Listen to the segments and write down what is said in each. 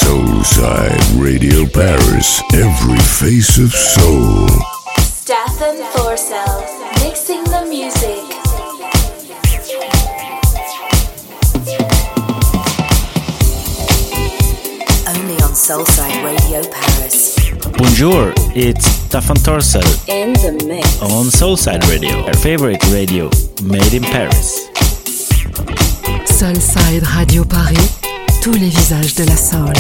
Soulside Radio Paris, every face of soul. Stefan Thorsell, mixing the music. Only on Soulside Radio Paris. Bonjour, it's Stefan Thorsell. In the mix. On Soulside Radio, our favorite radio, made in Paris. Soulside Radio Paris, tous les visages de la soul.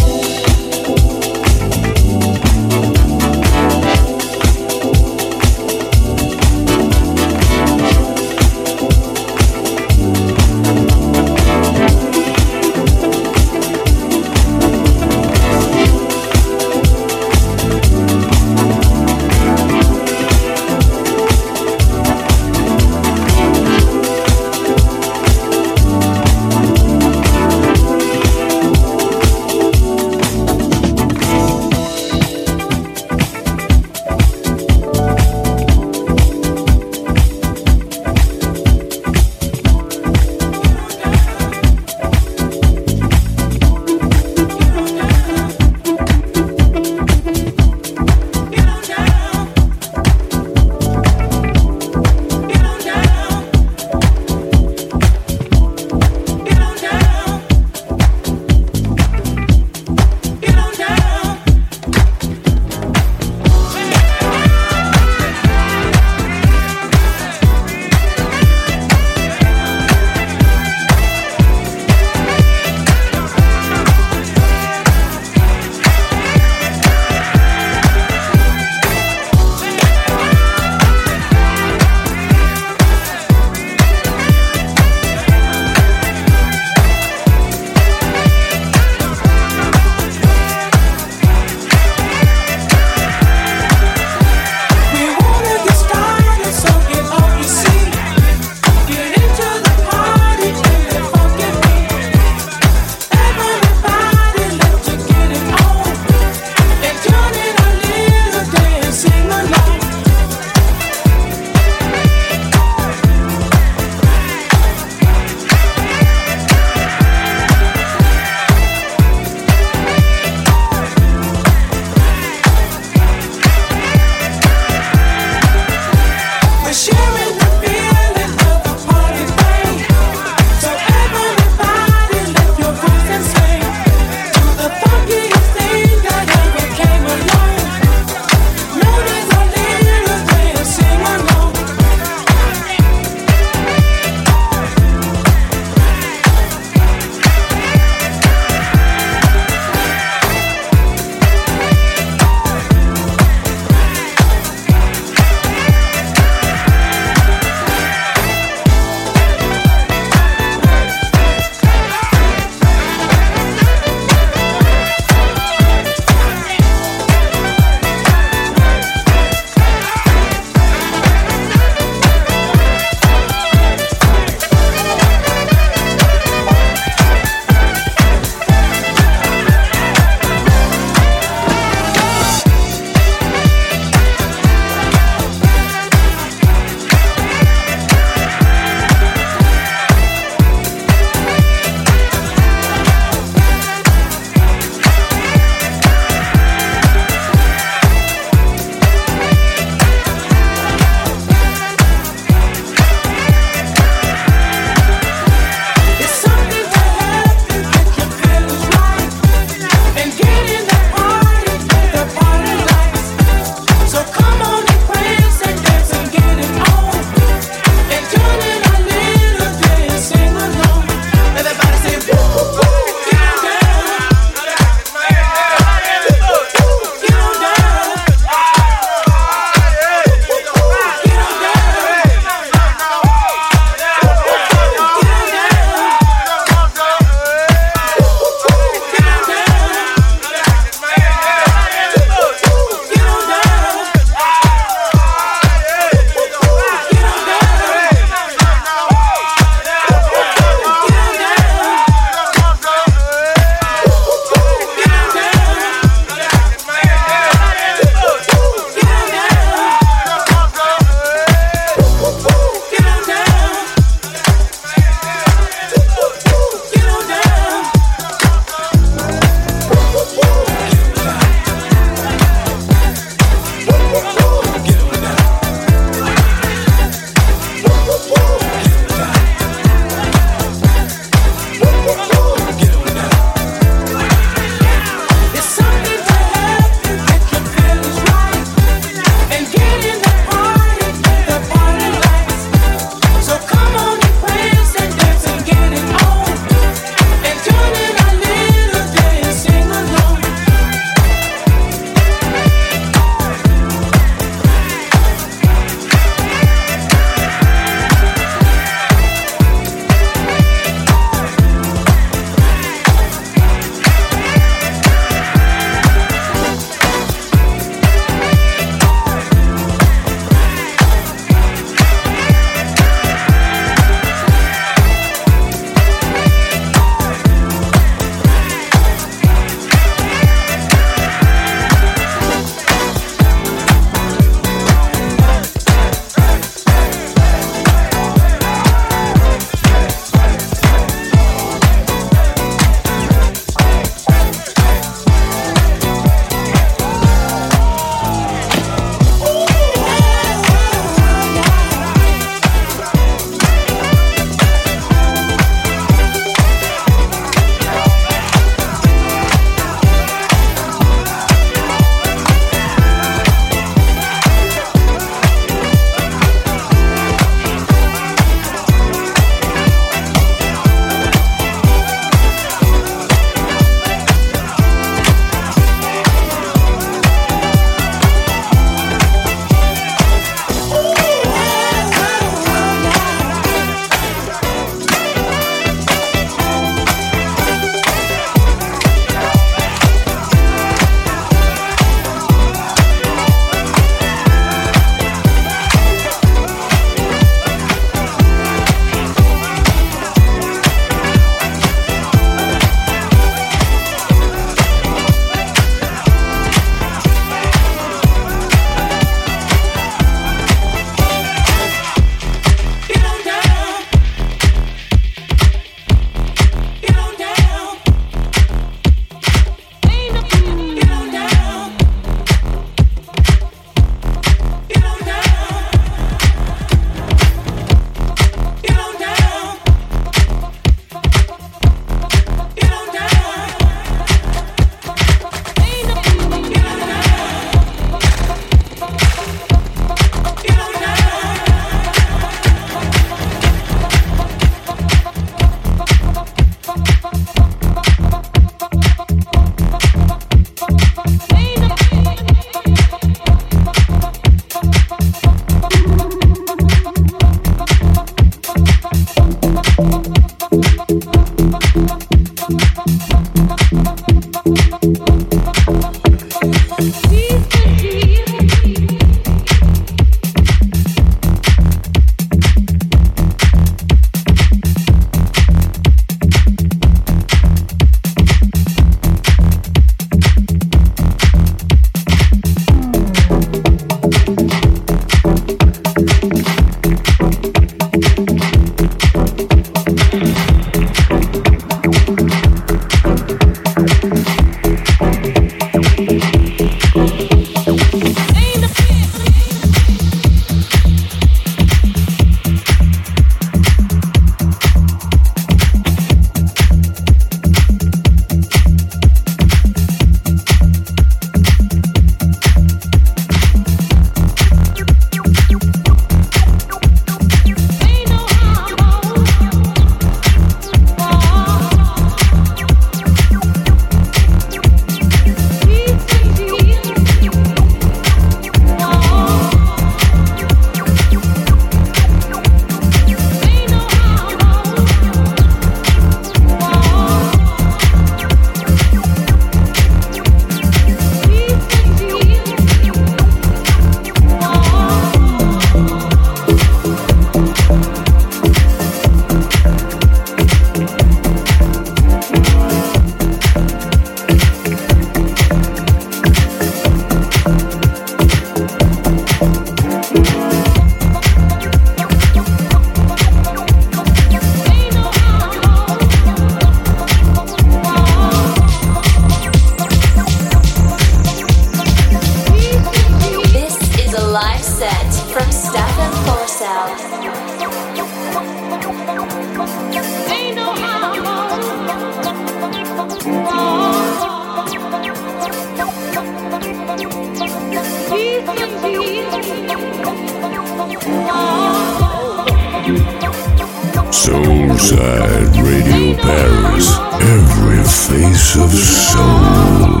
Soulside Radio Paris, every face of soul.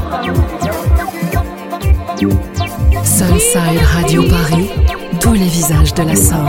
Soulside Radio Paris, tous les visages de la soul.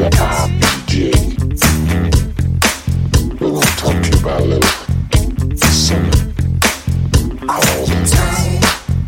RBJ. We're gonna talk to you about a little something called time.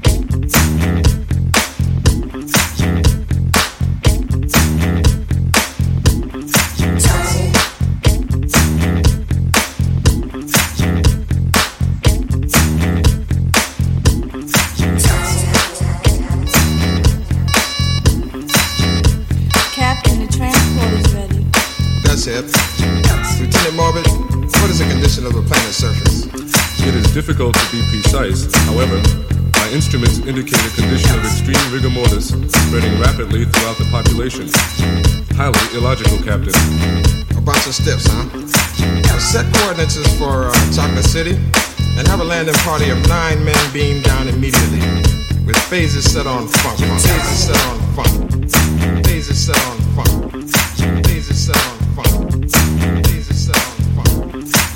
Lieutenant Morbid, what is the condition of the planet's surface? It is difficult to be precise. However, my instruments indicate a condition of extreme rigor mortis spreading rapidly throughout the population. Highly illogical, Captain. A bunch of stiffs, huh? Set coordinates is for Chocolate City and have a landing party of 9 men beam down immediately with phases set on funk. Phases set on funk. Phases set on funk. Phases set on funk. Phases set on funk.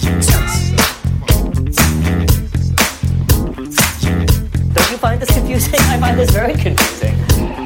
Don't you find this confusing? I find this very confusing.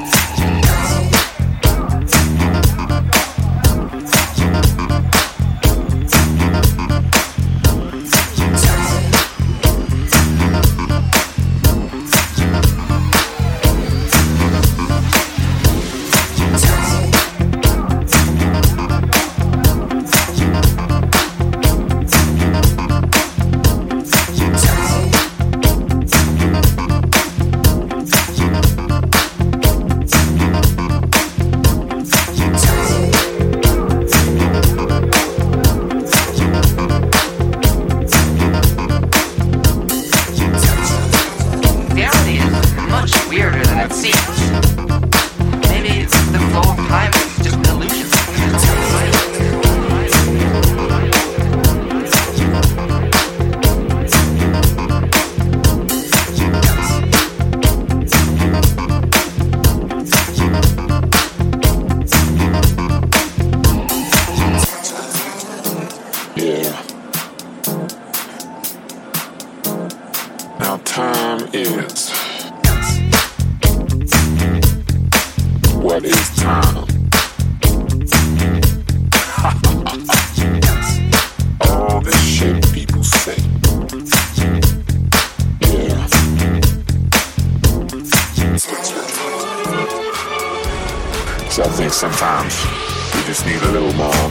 Sometimes we just need a little more.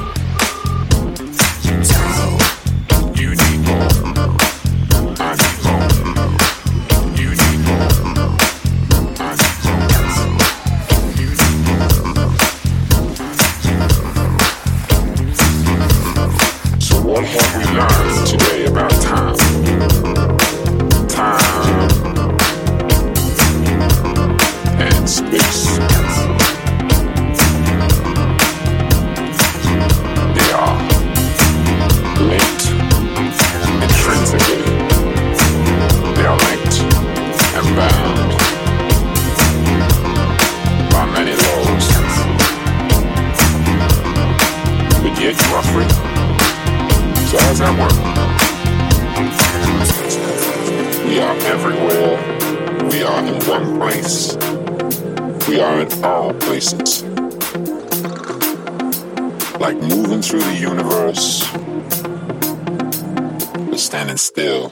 You need more. I need more. You need more. I need more. You need more. So what have we learned today about time? Time and space. We are everywhere. We are in one place. We are in all places. Like moving through the universe, but standing still.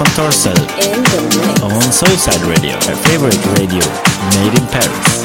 Stefan Torcel on Soulside Radio, our favorite radio made in Paris.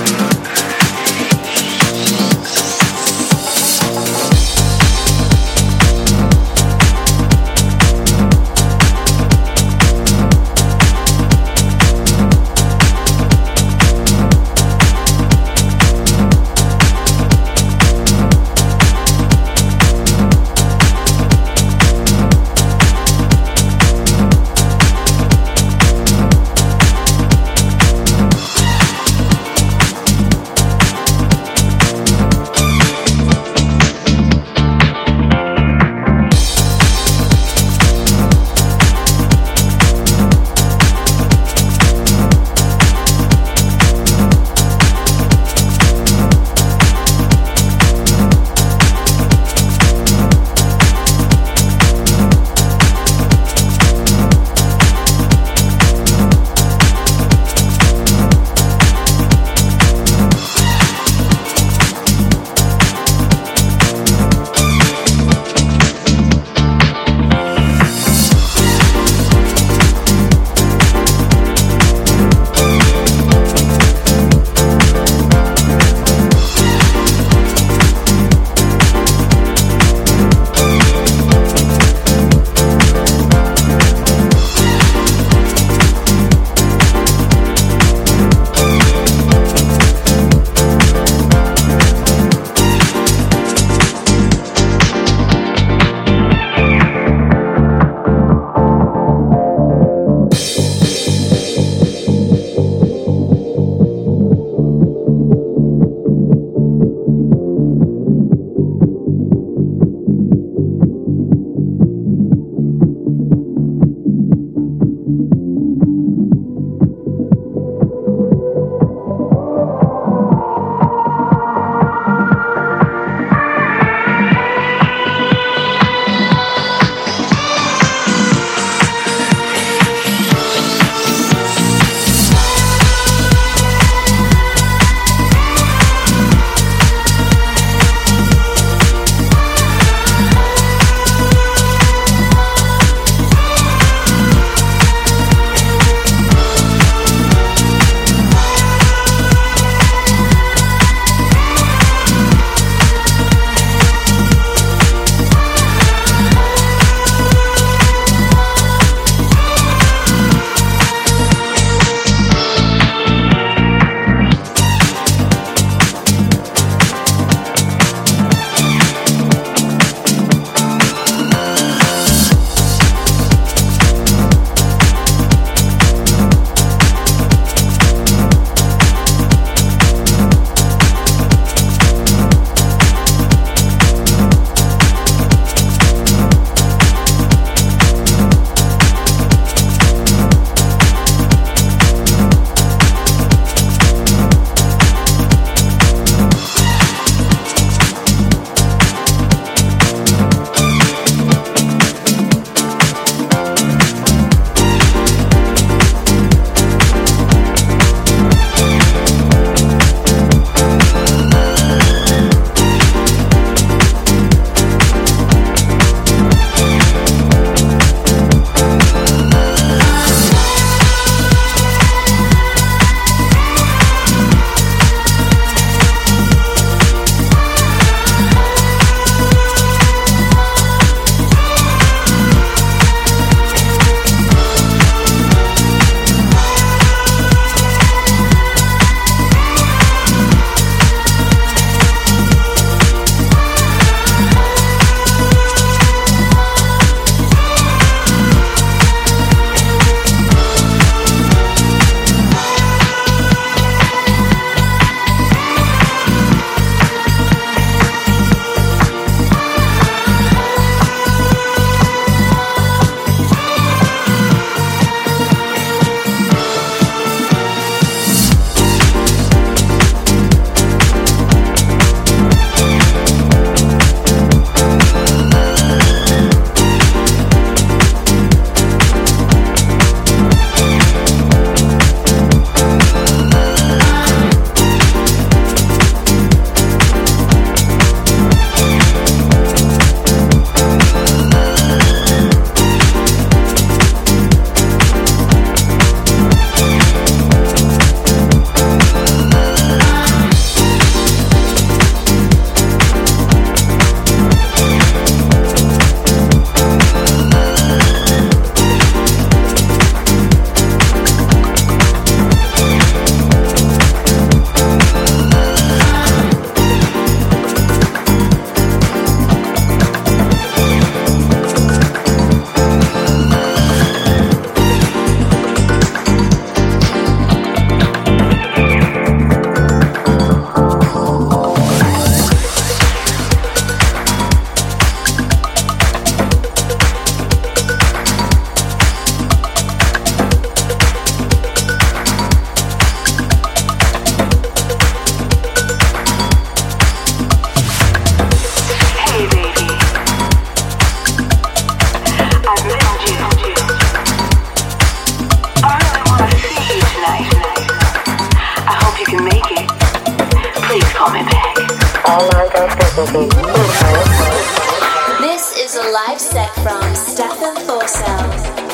This is a live set from Stefan Thorsell.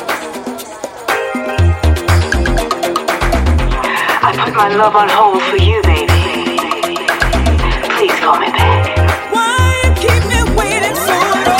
I put my love on hold for you, baby. Please call me back. Why you keep me waiting so long?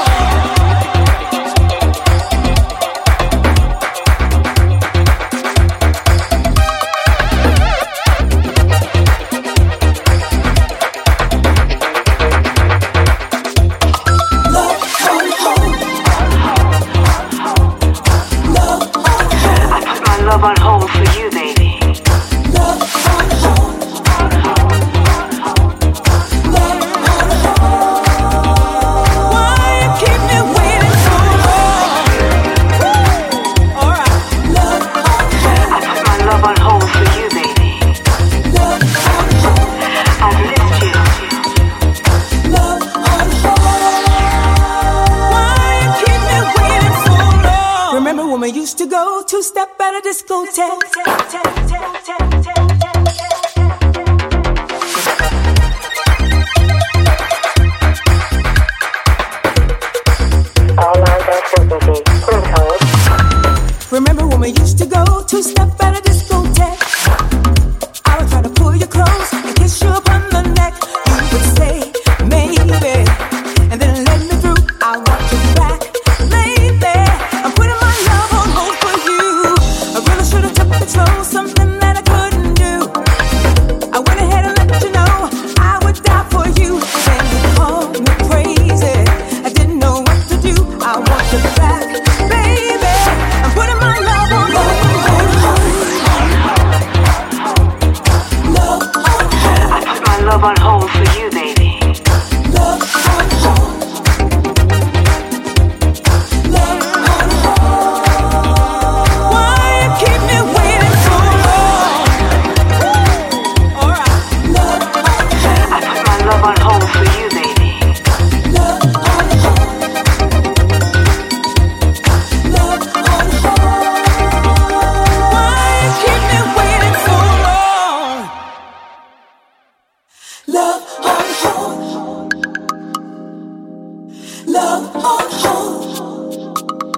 Love on hold for you, baby. Love on hold. Love on hold. Why you keep me waiting so long? All right. Love on hold. I put my love on hold for you, baby. Love on hold. I've missed you. Love on hold. Why you keep me waiting so long? Remember when we used to go two-step at a discotheque? Remember when we used to go two-step at a discotheque? I would try to pull you close and kiss you upon the neck. You would say, maybe, and then let me through. I want you back, baby. I'm putting my love on hold for you. I really should have took it slow, something that I couldn't do. I went ahead and let you know I would die for you. Then you called me crazy. I didn't know what to do. I want you back, baby. I'm putting my love on hold. Love on hold. I put my love on hold for you, baby. Love on hold. Love on hold. Why you keep me waiting so long? All right. Love on hold. I put my love on hold for you, baby. Love on hold. Love on hold. Why you keep me waiting so long? Love on hold. Love on hold.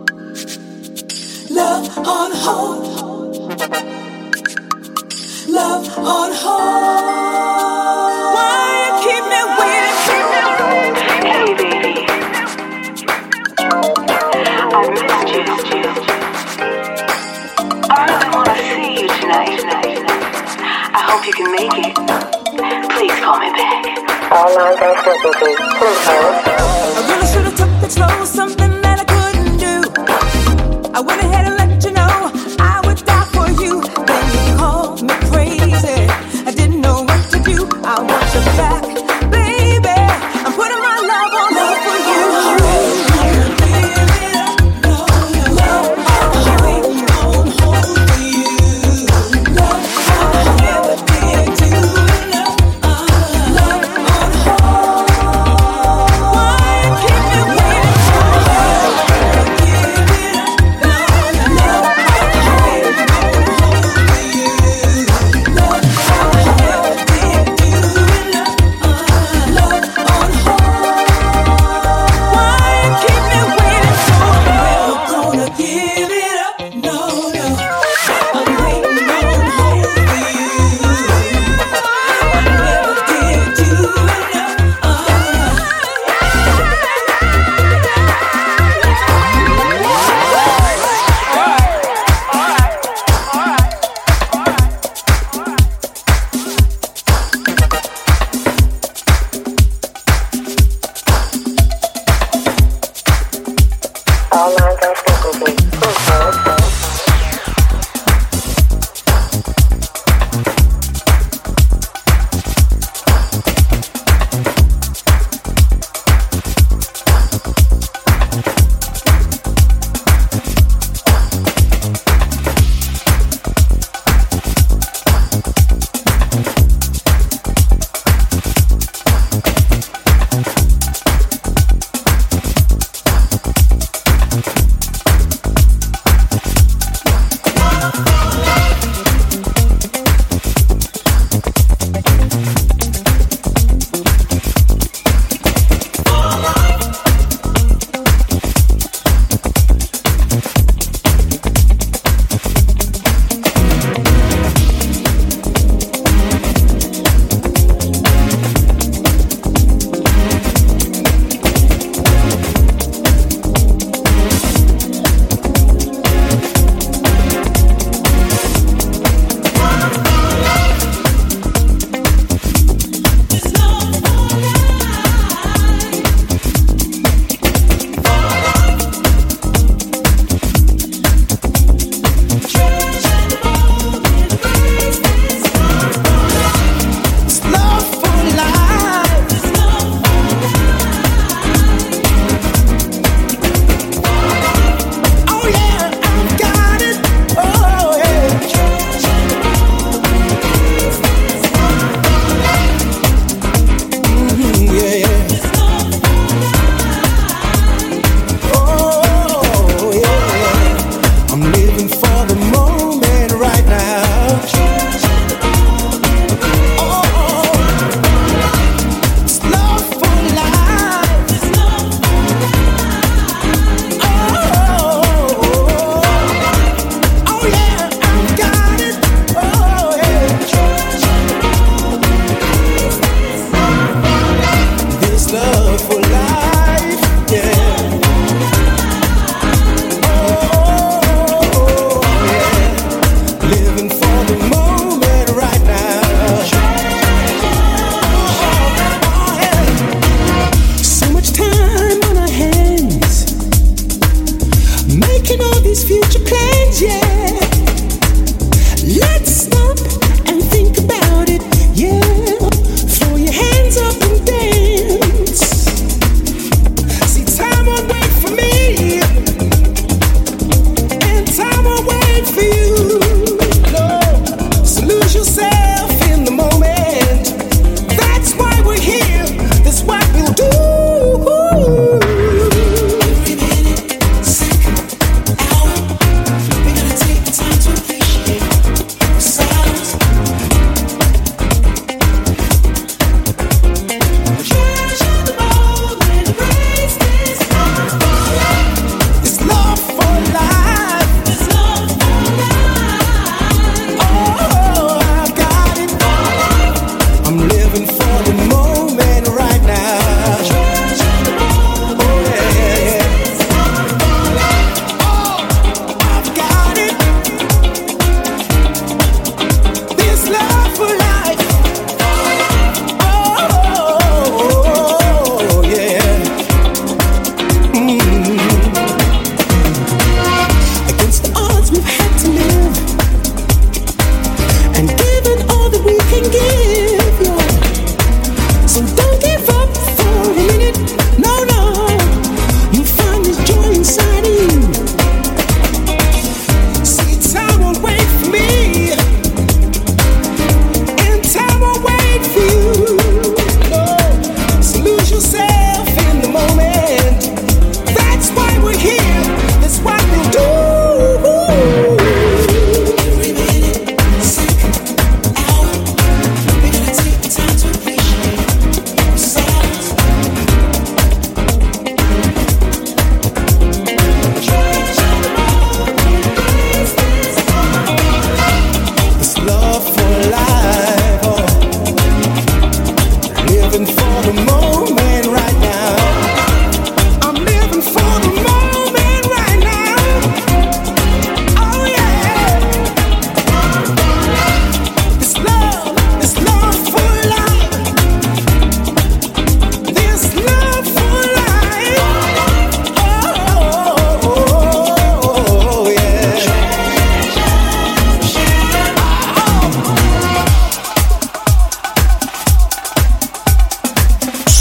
Love on hold. Love on hold. Why you keep me waiting? Hey, baby. I've missed you. I really want to see you tonight. I hope you can make it. Please call me back. I really should have took it slow, something that I couldn't do. I went ahead and let you know I would die for you. Then you called me crazy. I didn't know what to do. I want you back, baby. I'm putting my love on hold for you. Love on hold for you. Love on everything to love on hold. Why you keep me waiting so long? Give it up, love on hold for you. Love on everything to love on hold.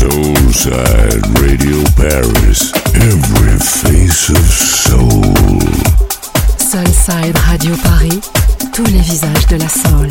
Soulside Radio Paris. Every face of soul. Soulside Radio Paris. Tous les visages de la soul.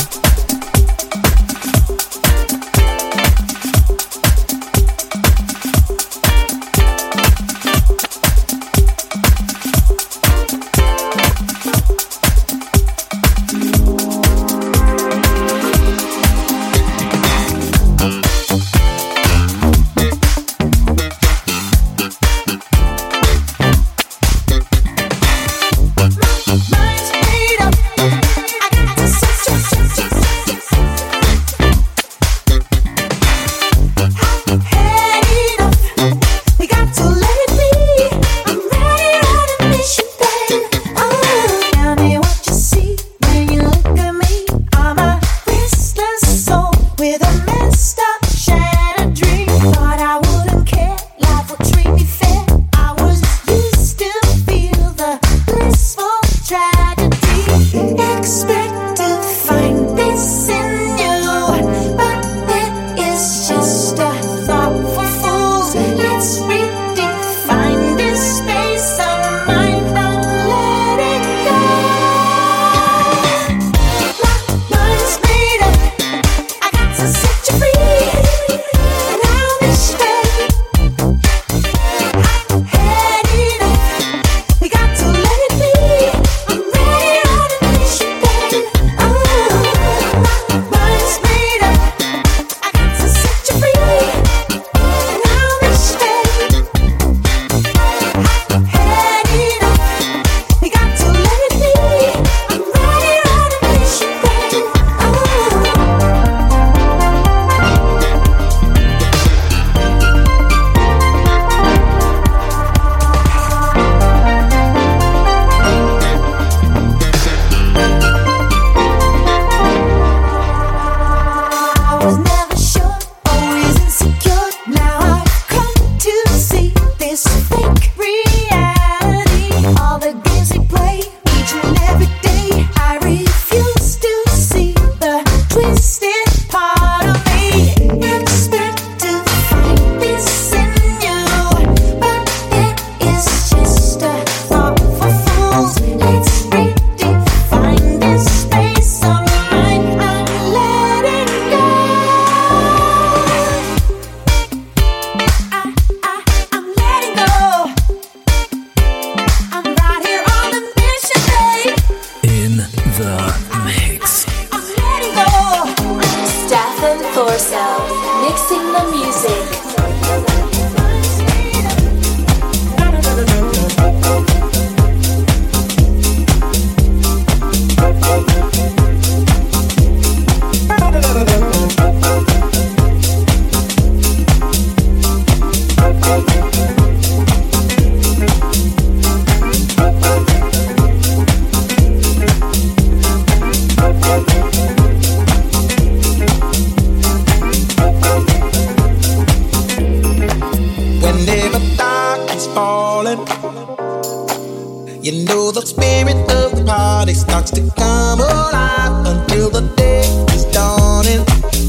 You know the spirit of the party starts to come alive until the day is dawning.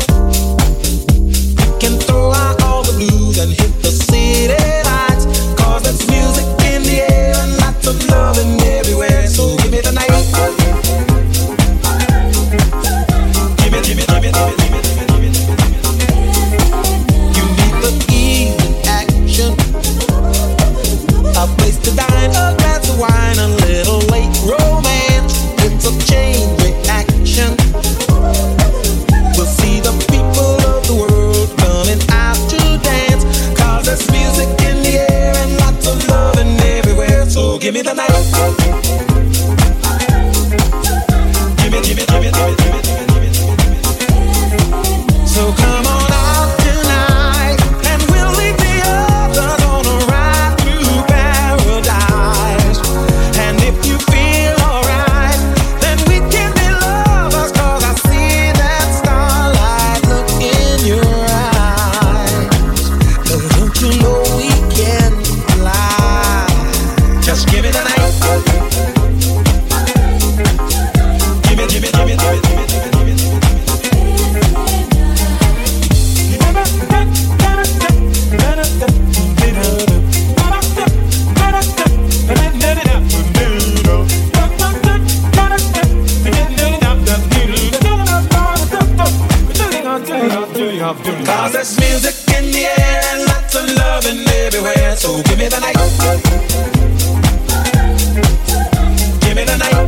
We can throw out all the blues and hit the city lights, 'cause there's music in the air and lots of loving everywhere. So give me the night. Give it, give it, give it, give it, give it, give it, give it, give it. You need the evening action, a place to dine, a glass of wine, a little late romance. It's a chain reaction. 'Cause there's music in the air and lots of loving everywhere. So give me the night. Give me the night.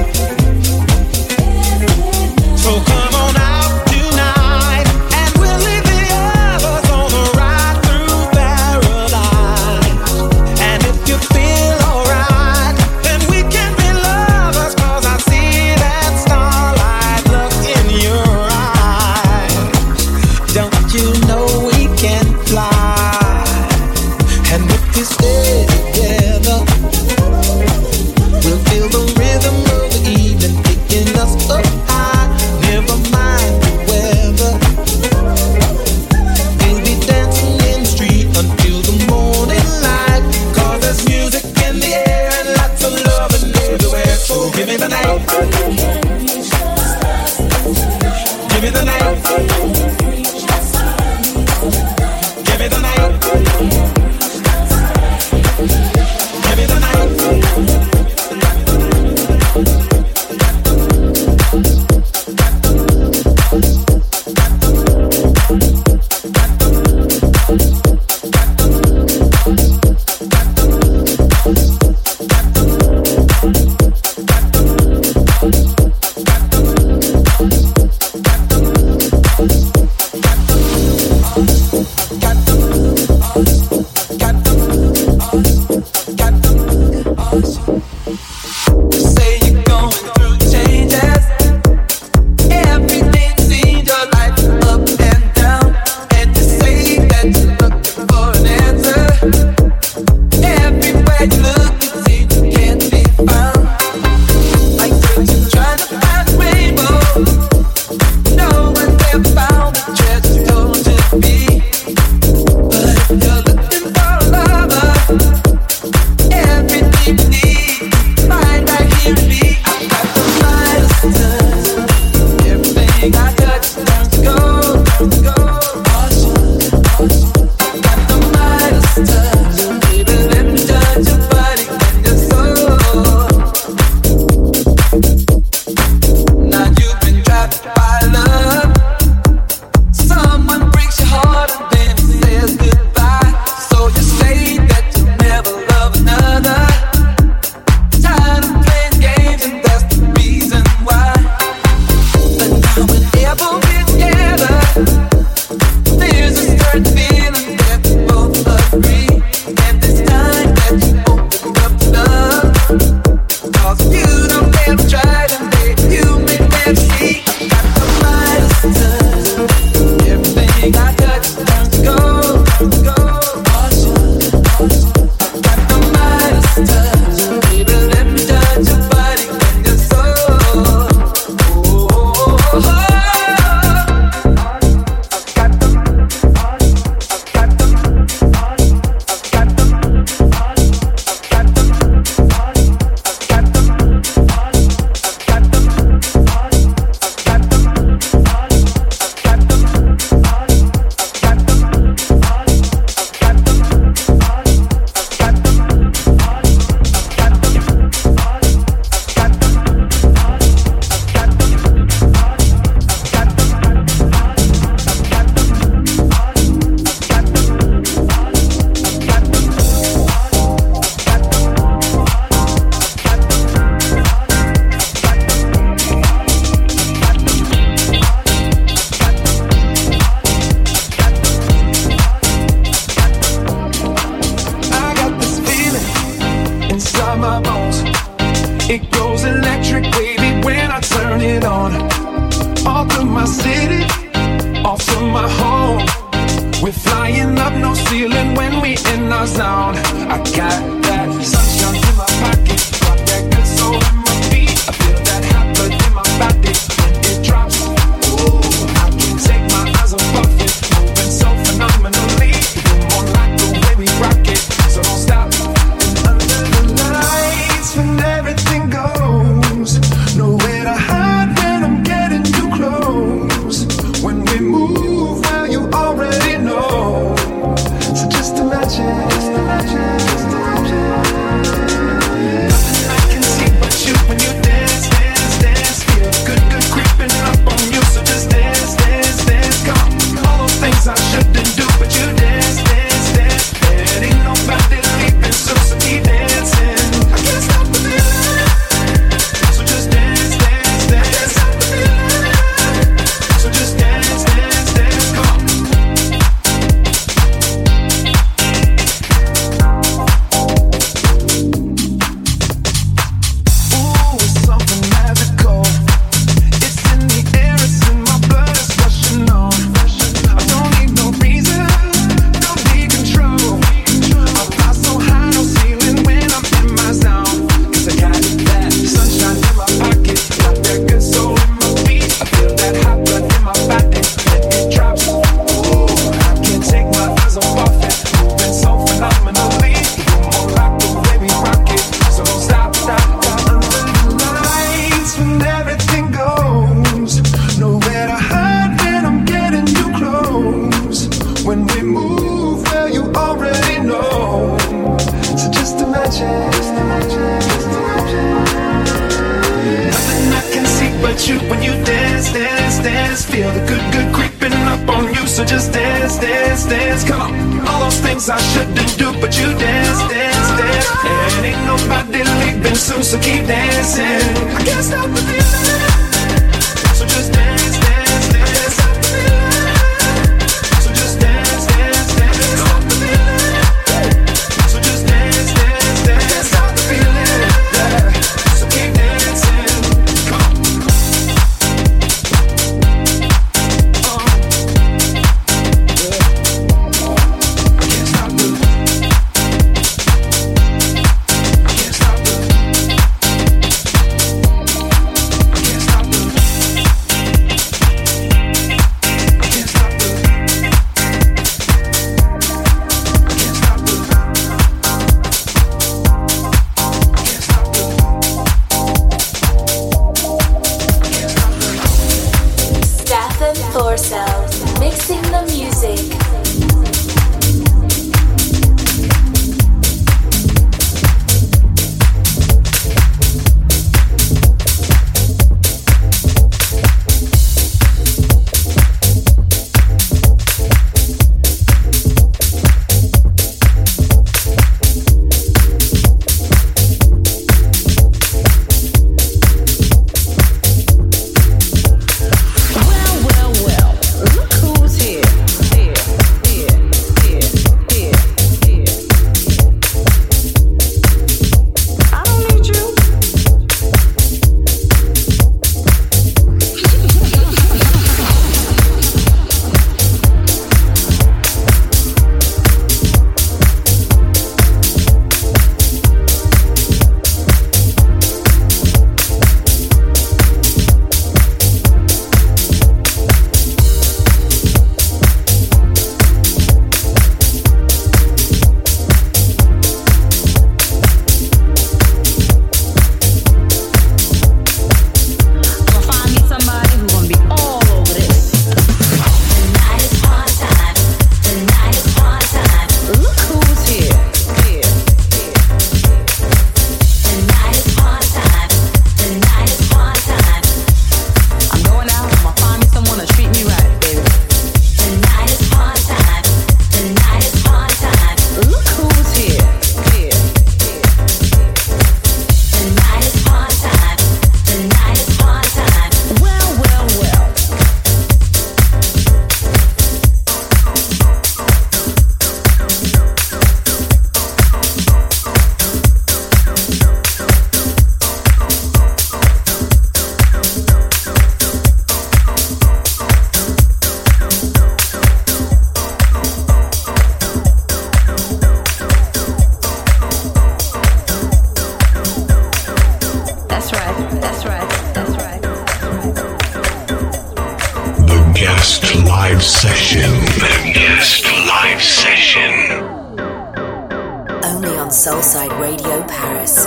So come on out tonight and we'll leave the others on the ride through paradise. And if you feel alright, then we can be lovers. 'Cause I see that starlight look in your eyes. Don't you know we can fly? And if we stay together, we'll feel the rhythm of the evening taking us up high. Never mind the weather. We'll be dancing in the street until the morning light. 'Cause there's music in the air and lots of loving everywhere. So give me the night. Give me the night. Give me the night. Give me the night. Say you're going through changes. Everything seems your life up and down. And you say that you're looking for an answer. Everywhere you look, it seems you can't be found. Like you're trying to find a rainbow. No one ever found the treasure told to be. But if you're looking for a lover, everything you need, find right here in me. I've got the Midas touch. Everything I touch turns to gold, turns to gold. I've got the Midas touch. Baby, let me touch your body and your soul. Now you've been trapped by love. Someone breaks your heart and then says goodbye. So you say that you'll never love another. Tired of playing games and that's the reason why. But now whenever we're together, there's a certain feeling that we both agree. And this time that you open up to love, 'cause you don't ever try to make you may never see. Got the Midas touch. Everything I touch turns to gold, turns to gold. Got the Midas touch. Baby, let me touch your body and your soul. I got this feeling inside my bones. It goes electric wavy when I turn it on. Off of my city, off of my home. We're flying up, no ceiling when we in our zone. I got that sunshine in my pocket, got that good soul in my feet. I feel that hot blood in my body when it drops. Ooh, I can't take my eyes off of it, moving so phenomenally. You're more like the way we rock it, so don't stop. Under the lights, when everything goes, nowhere to hide when I'm getting too close. When we move, well, you already know. So just imagine, just imagine, just imagine. Nothing I can see but you when you dance, dance, dance. Feel the good, good creeping up on you. So just dance, dance, dance. Come on. All those things I shouldn't do, but you dance, dance, dance. And ain't nobody leaving soon, so keep dancing. I can't stop the feeling. So just dance, dance, dance. Stop the feeling. So just dance, dance, dance. Stop the feeling. So just dance, dance, dance. Stop the feeling. Yeah. So keep dancing. Come on. Mixing the music. Only on Soulside Radio Paris.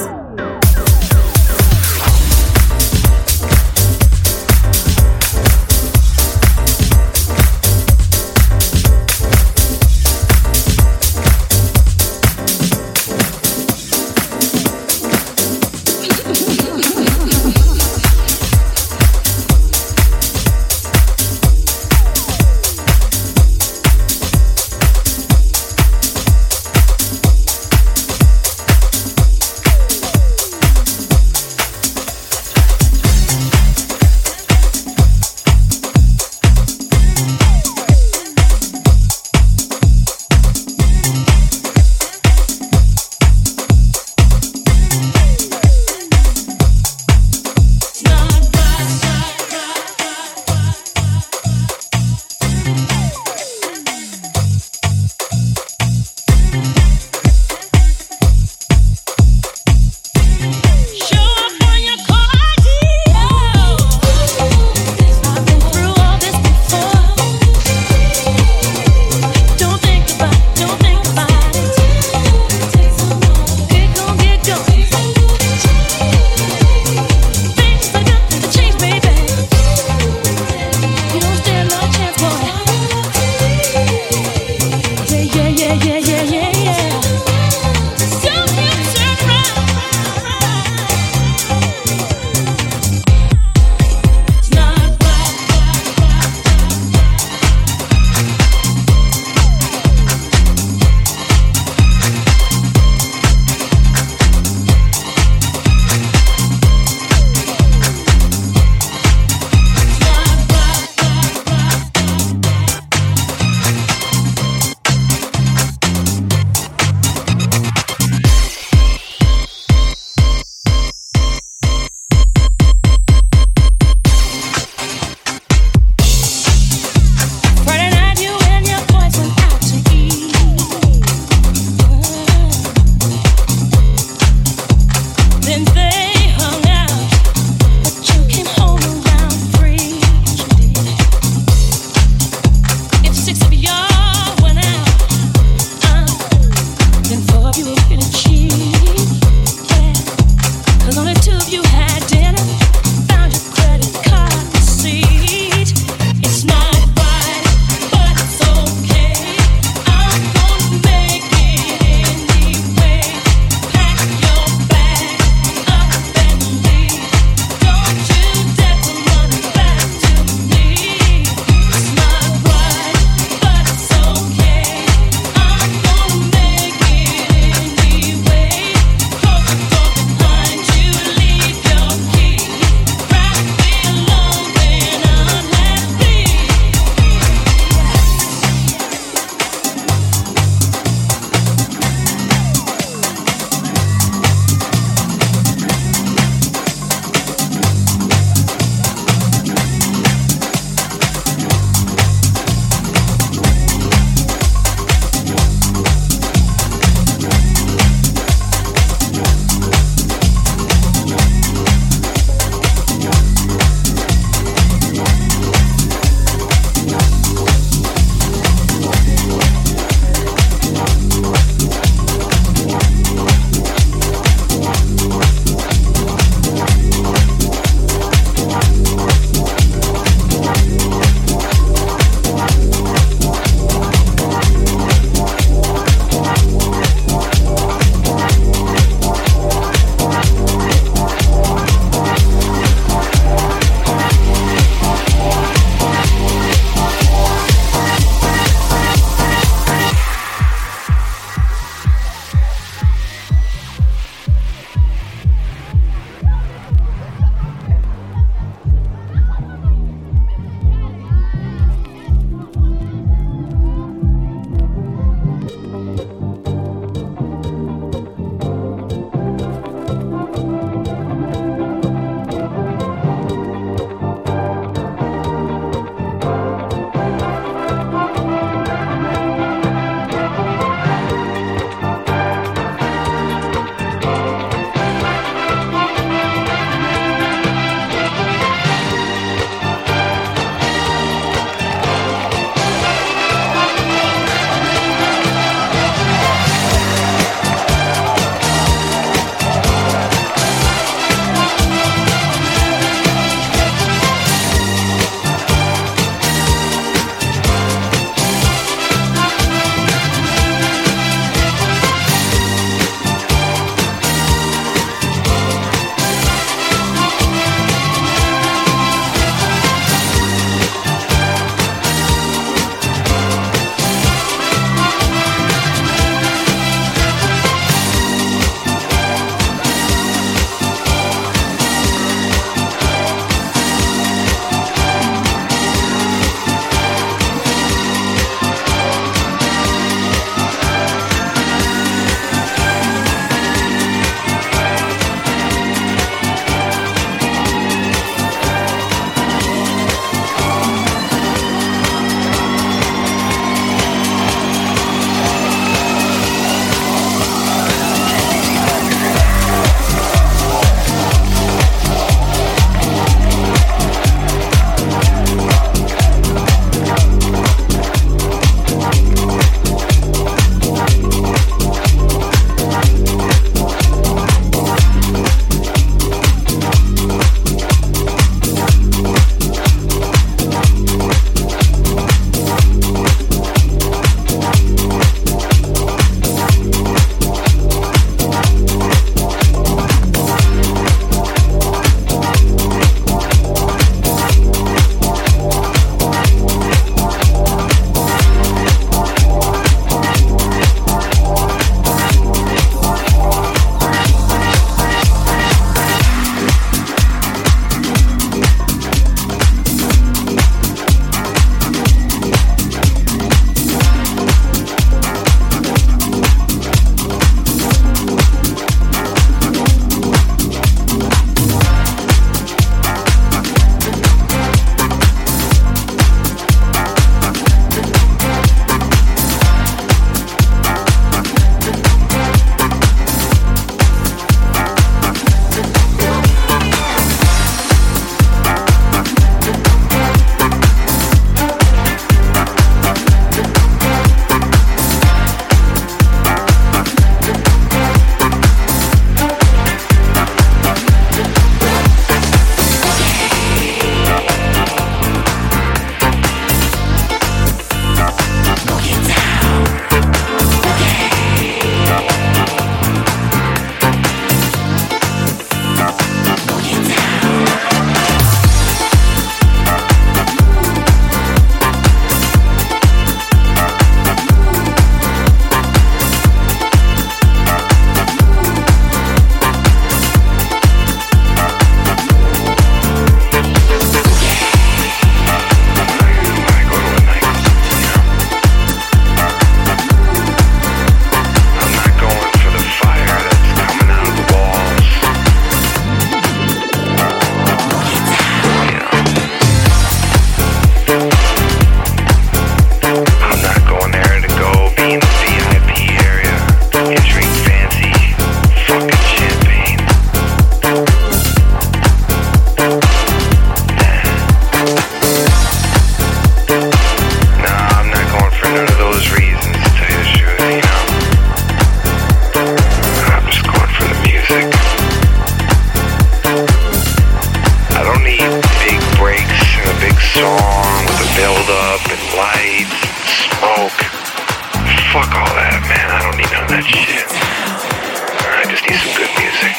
smoke. Fuck all that, man. I don't need none of that shit. I just need some good music.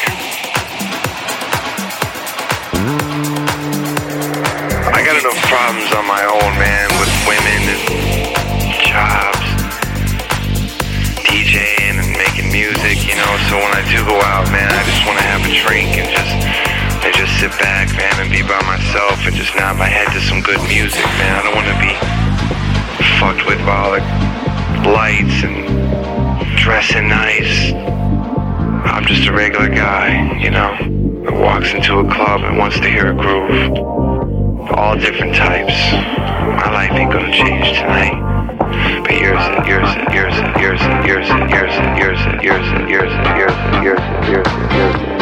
I got enough problems on my own, man, with women and jobs, DJing and making music, you know. So when I do go out, man, I just want to have a drink and just sit back, man, and be by myself and just nod my head to some good music, man. I don't want to be fucked with all the lights and dressing nice. I'm just a regular guy, you know, that walks into a club and wants to hear a groove. All different types. My life ain't gonna change tonight. But yours it, yours it, yours it, yours it, yours it, yours it, yours it, yours it, yours it, yours it, yours it, yours it, yours it,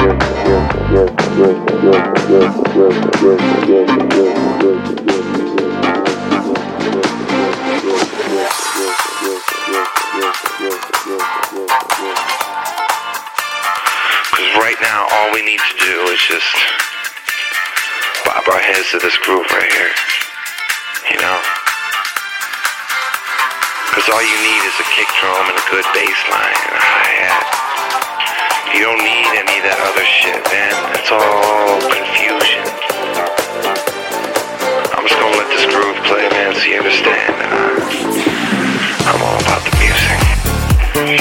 because right now all we need to do is just bob our heads to this groove right here, you know? Because all you need is a kick drum and a good bass line and a hi-hat. You don't need any of that other shit, man. It's all confusion. I'm just gonna let this groove play, man, so you understand that I'm all about the music.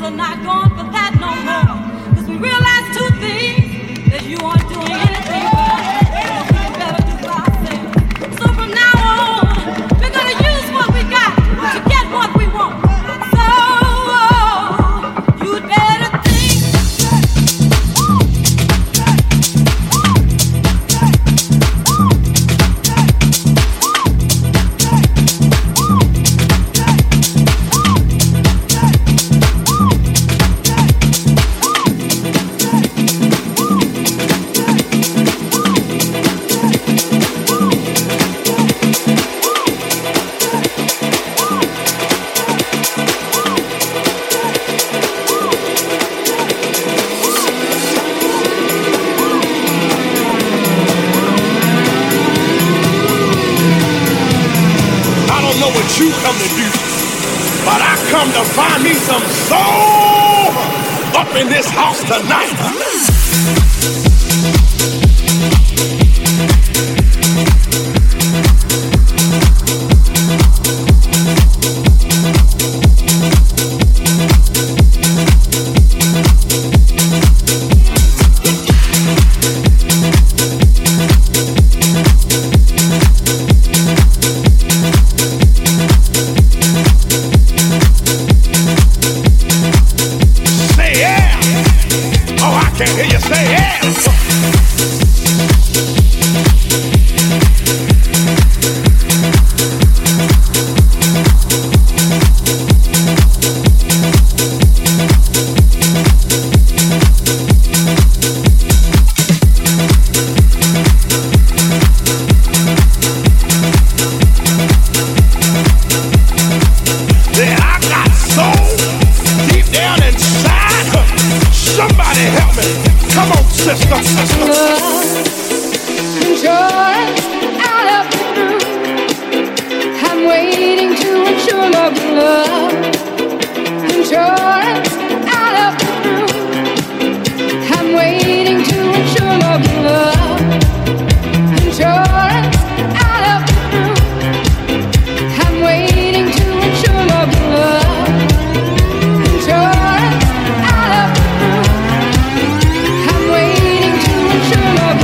You come to do, but I come to find me some soul up in this house tonight. Love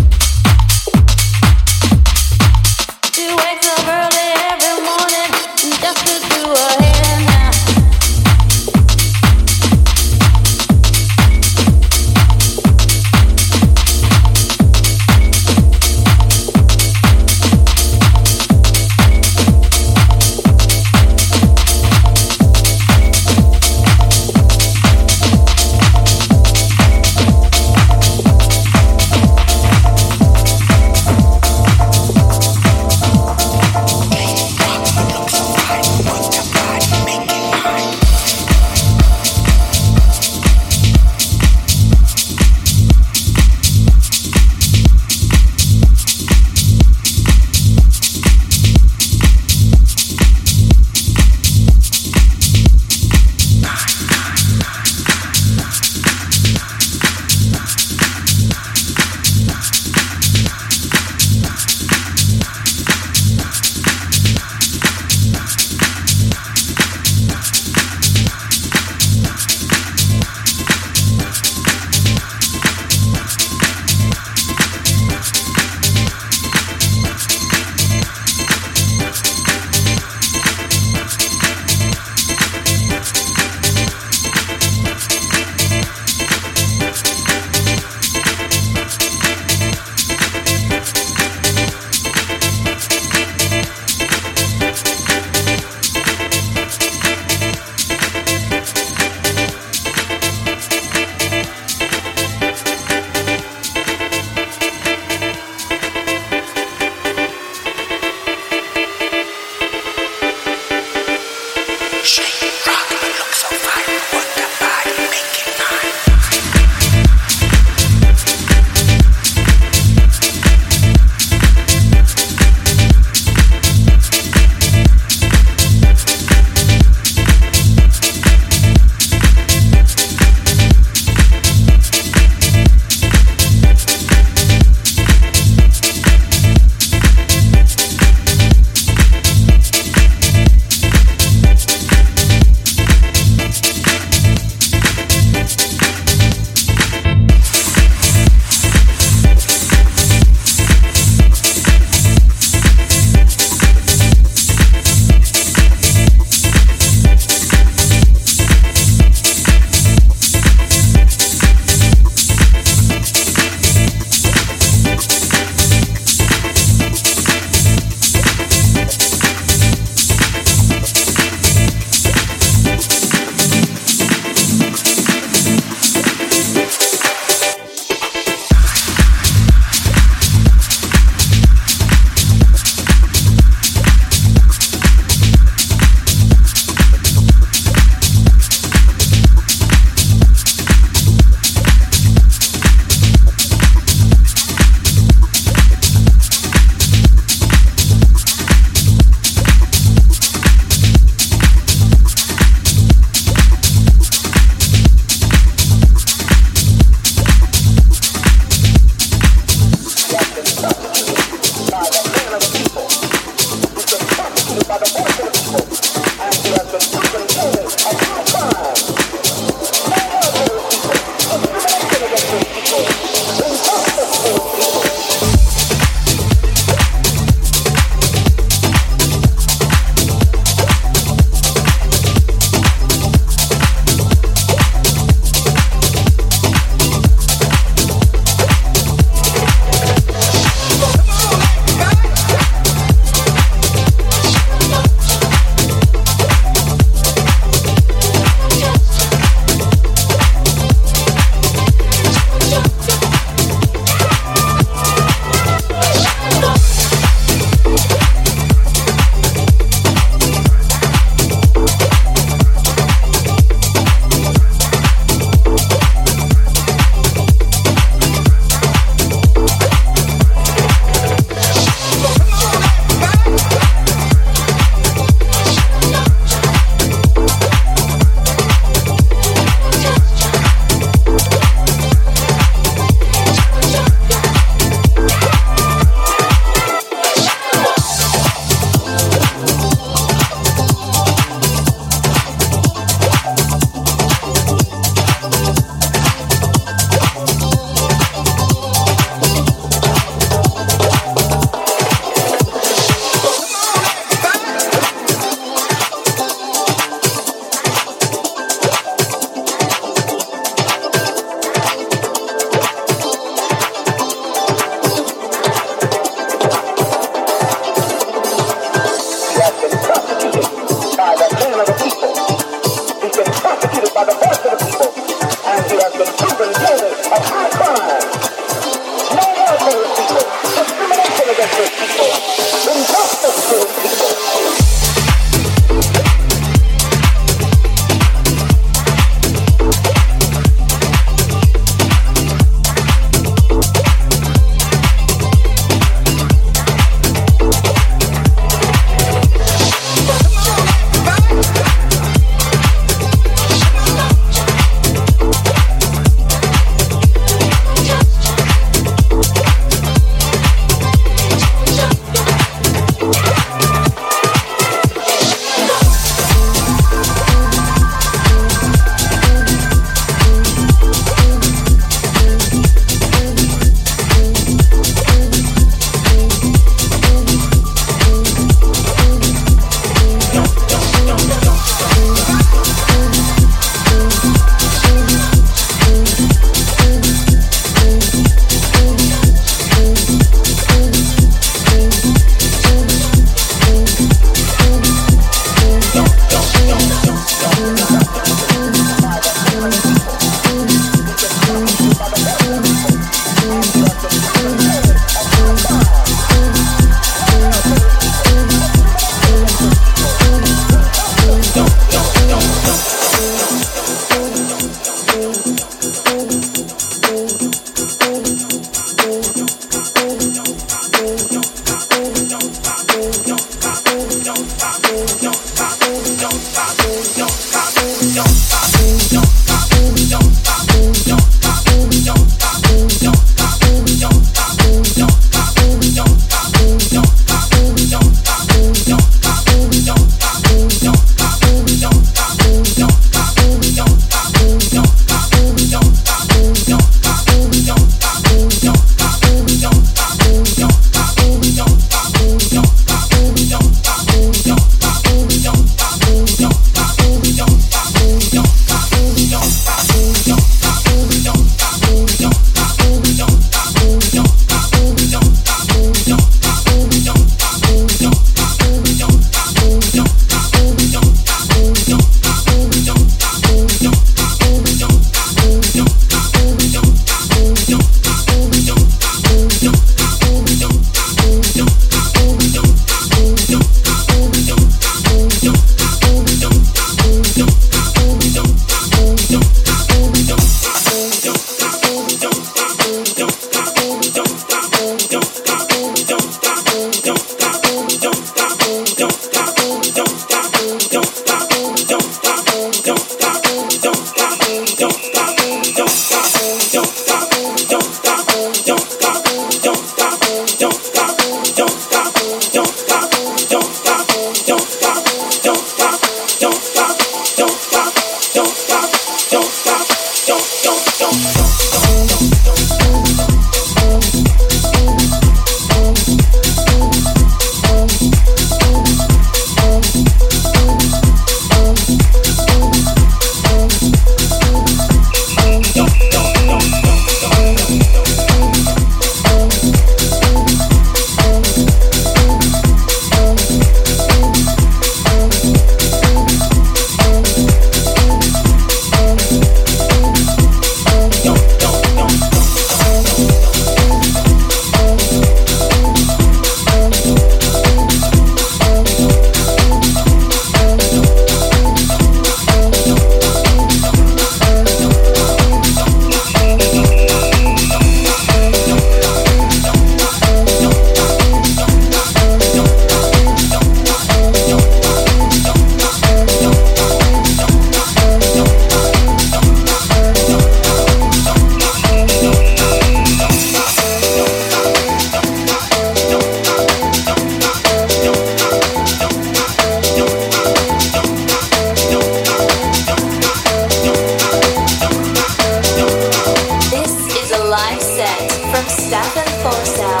Stefan Forsell.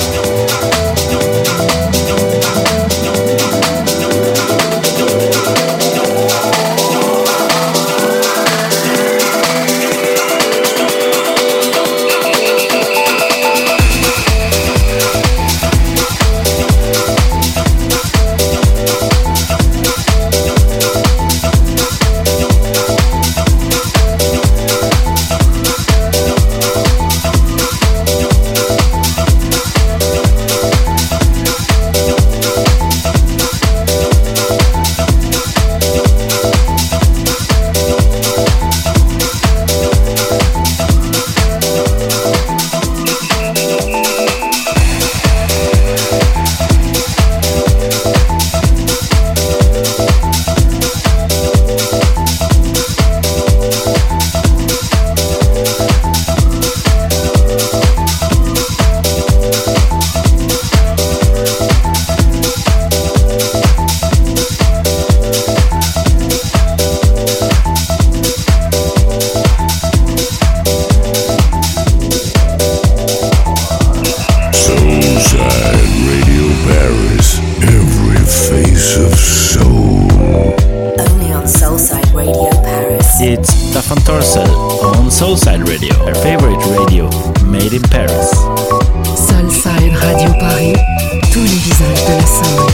Soulside Radio, her favorite radio, made in Paris. Soulside Radio Paris, tous les visages de la soul.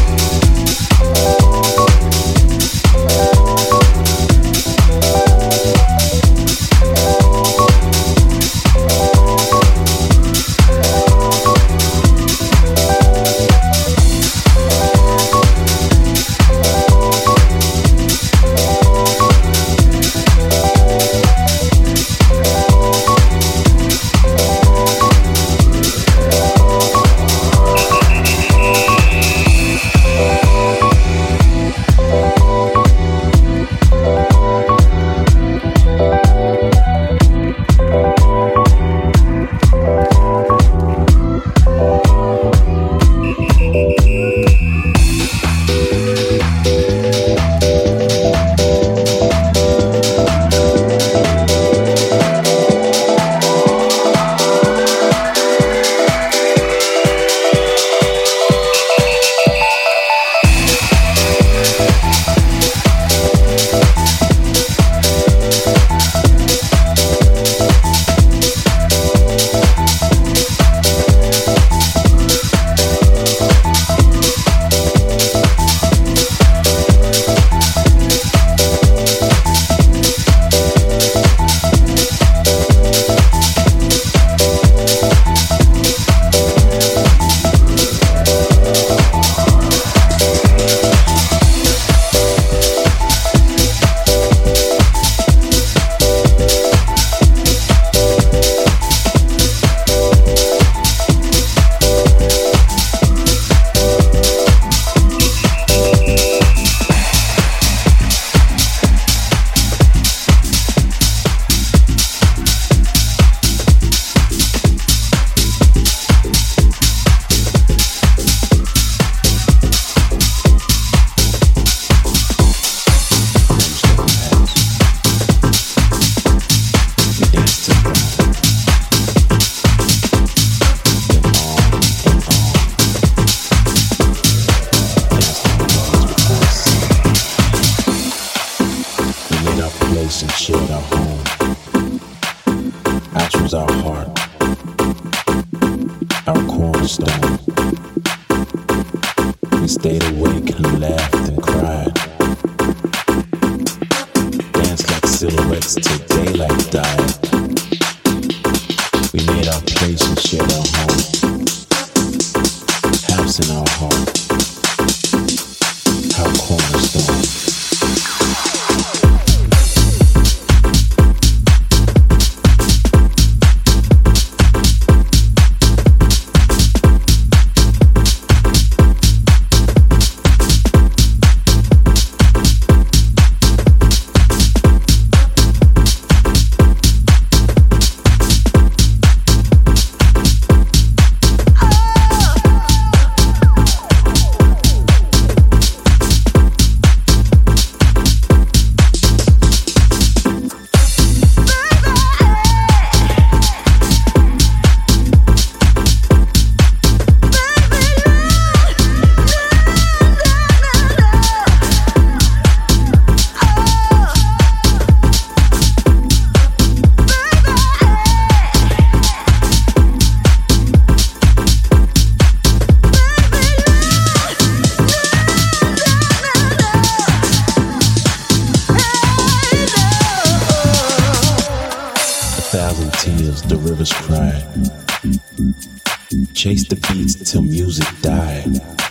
Chased the beats till music died.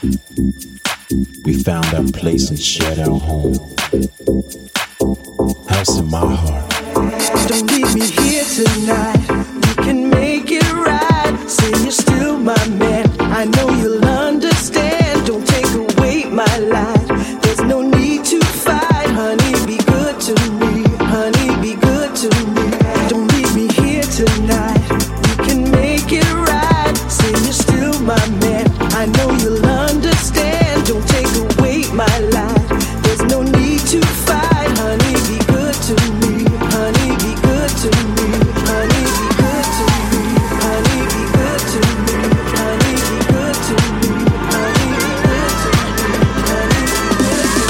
We found our place and shared our home. House in my heart. Don't leave me here tonight. We can make it right. Say you're still my man. I know you'll understand. Don't take away my life. There's no need to fight. Honey, be good to me. Honey, be good to me. Don't leave me here tonight. We can make it right. Say you're still my man. I know you'll understand. Don't take away my life. There's no need to fight. Honey, be good to me. Honey, be good to me. Honey, be good to me. Honey, be good to me. Honey, be good to me. Honey, be good to me. Honey, be good to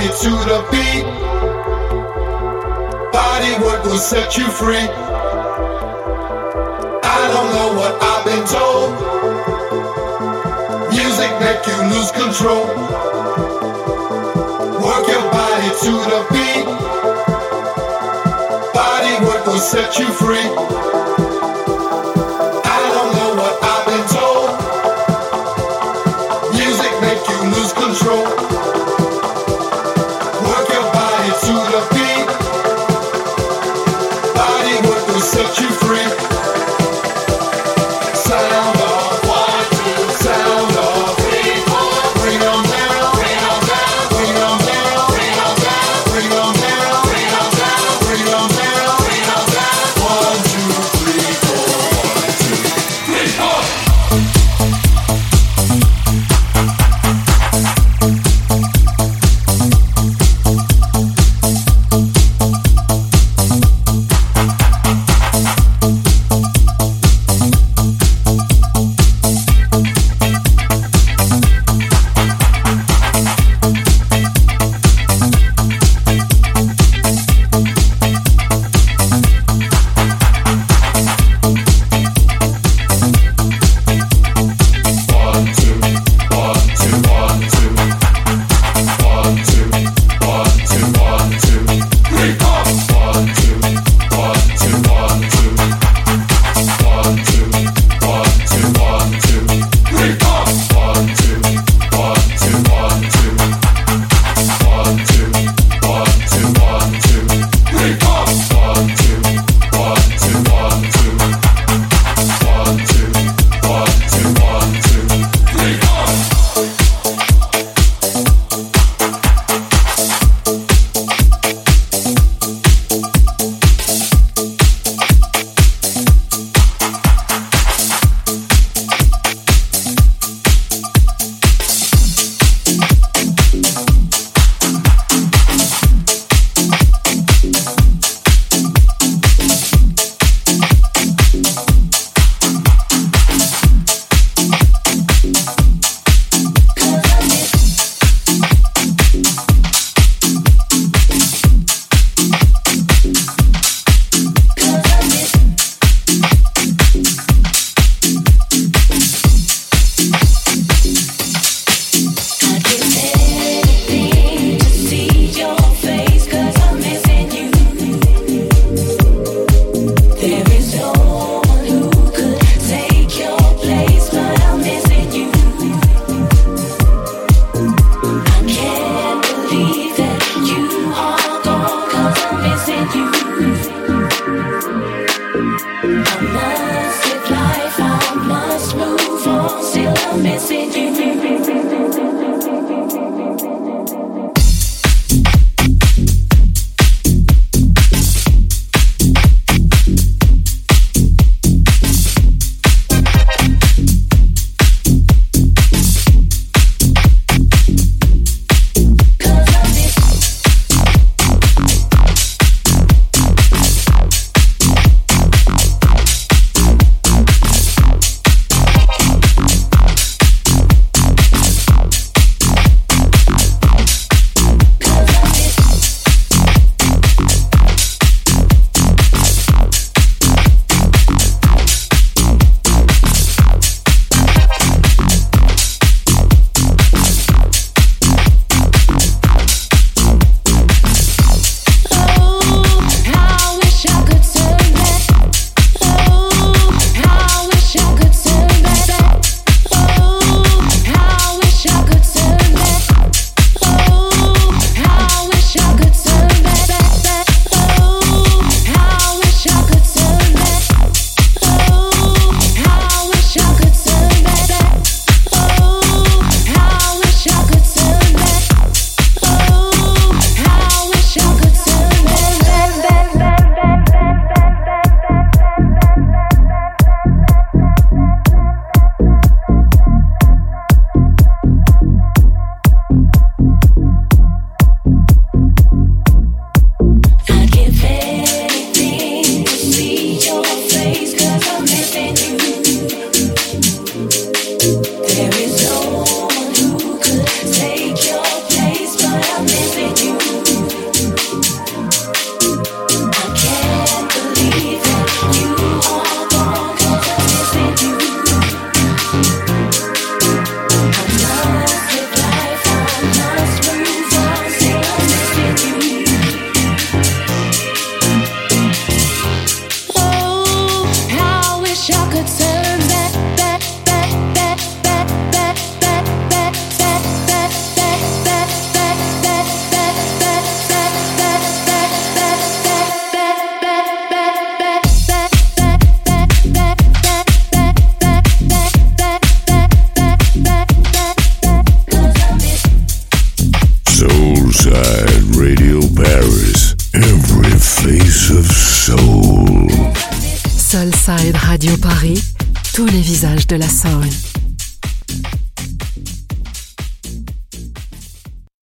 body to the beat. Body work will set you free. I don't know what I've been told. Music make you lose control. Work your body to the beat. Body work will set you free. I don't know what I've been told. Music make you lose control. Work your body to the beat. Body work will set you free. Sound off, 1, 2, sound off, 3, 4. Bring 'em down, bring 'em down, bring 'em down, bring 'em down, bring 'em down, bring 'em down, bring 'em down, bring 'em down. 1, 2, 3. Radio Paris, every face of soul. Soulside Radio Paris, tous les visages de la soul.